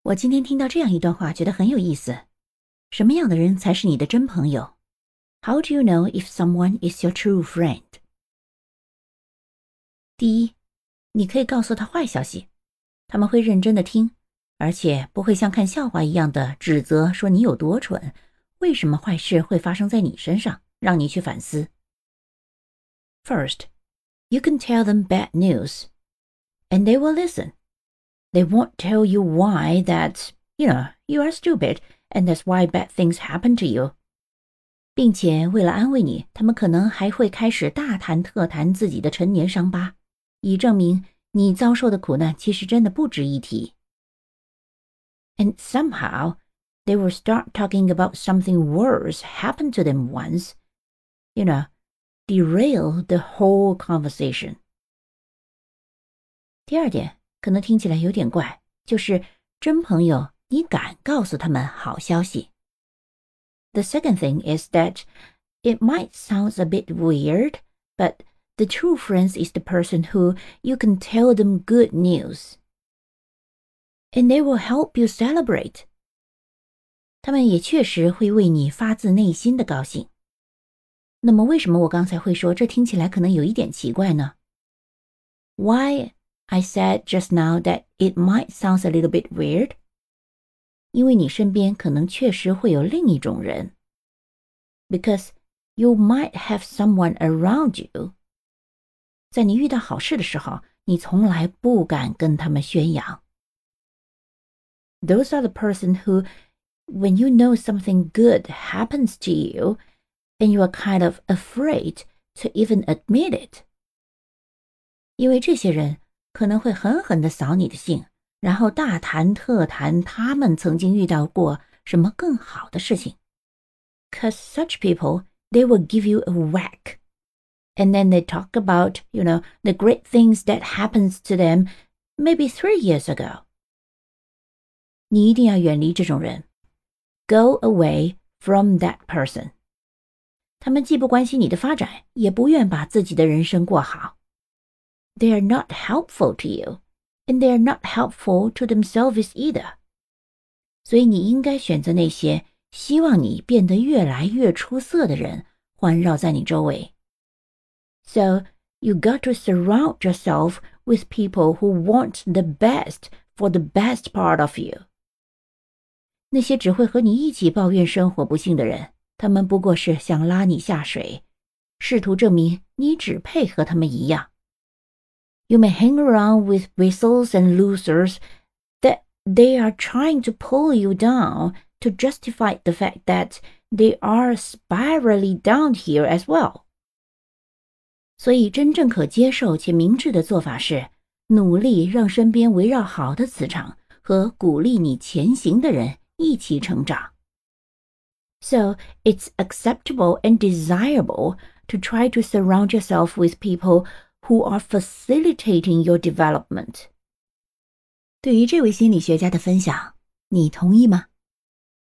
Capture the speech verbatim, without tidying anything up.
我今天听到这样一段话，觉得很有意思。什么样的人才是你的真朋友？ How do you know if someone is your true friend? 第一，你可以告诉他坏消息，他们会认真的听，而且不会像看笑话一样的指责说你有多蠢，为什么坏事会发生在你身上，让你去反思。First, you can tell them bad news, and they will listen. They won't tell you why that, you know, you are stupid, and that's why bad things happen to you. 并且为了安慰你，他们可能还会开始大谈特谈自己的陈年伤疤，以证明你遭受的苦难其实真的不值一提。And somehow, they will start talking about something worse happened to them once, you know, derail the whole conversation. 第二点，可能听起来有点怪，就是真朋友，你敢告诉他们好消息。The second thing is that it might sound a bit weird, but the true friend is the person who you can tell them good news. And they will help you celebrate. 他们也确实会为你发自内心的高兴。那么为什么我刚才会说这听起来可能有一点奇怪呢？ Why I said just now that it might sound a little bit weird? 因为你身边可能确实会有另一种人。Because you might have someone around you. 在你遇到好事的时候，你从来不敢跟他们宣扬。Those are the person who, when you know something good happens to you, and you are kind of afraid to even admit it. 因为这些人可能会狠狠地扫你的兴，然后大谈特谈他们曾经遇到过什么更好的事情。Cause such people, they will give you a whack. And then they talk about, you know, the great things that happens to them maybe three years ago. 你一定要远离这种人。Go away from that person. 他们既不关心你的发展，也不愿把自己的人生过好。They are not helpful to you, and they are not helpful to themselves either. 所以你应该选择那些希望你变得越来越出色的人，环绕在你周围。So, you got to surround yourself with people who want the best for the best part of you. 那些只会和你一起抱怨生活不幸的人，他们不过是想拉你下水，试图证明你只配和他们一样。You may hang around with whistles and losers that they are trying to pull you down to justify the fact that they are spirally down here as well. 所以真正可接受且明智的做法是，努力让身边围绕好的磁场和鼓励你前行的人一起成长。So, it's acceptable and desirable to try to surround yourself with people who are facilitating your development. 对于这位心理学家的分享，你同意吗？